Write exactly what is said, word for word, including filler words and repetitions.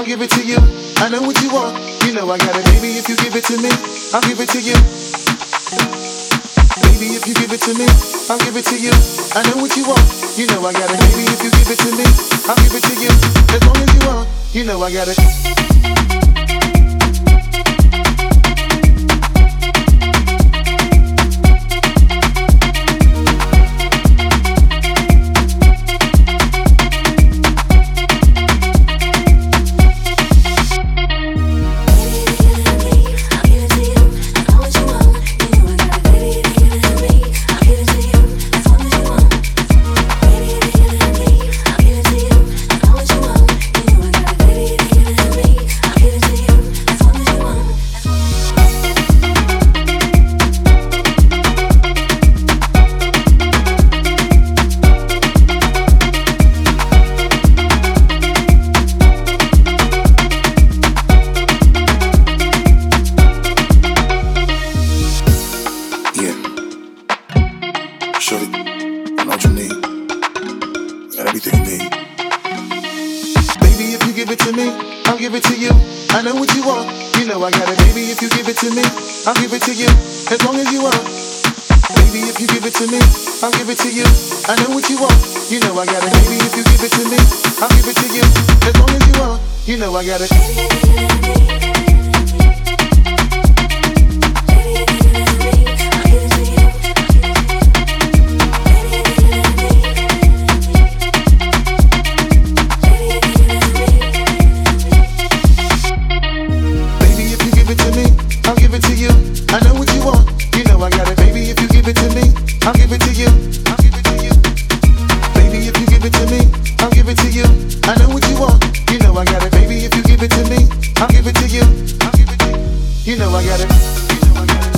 give it to you. I know what you want, you know I got it. Baby, if you give it to me, I'll give it to you. Baby, if you give it to me, I'll give it to you. I know what you want, you know I got it. Baby, if you give it to me, I'll give it to you. As long as you want, you know I got it. Shorty, I know what you need. Got everything you need. Baby, if you give it to me, I'll give it to you. I know what you want, you know I got it. Baby, if you give it to me, I'll give it to you. As long as you want. Baby, if you give it to me, I'll give it to you. I know what you want, you know I got it. Baby, if you give it to me, I'll give it to you. As long as you want, you know I got it. I'll give it to you. I know what you want, you know I got it. Baby, if you give it to me, I'll give it to you. I'll give it to you. Baby, if you give it to me, I'll give it to you. I know what you want, you know I got it. Baby, if you give it to me, I'll give it to you. I'll give it to you. You know I got it. You know I got it.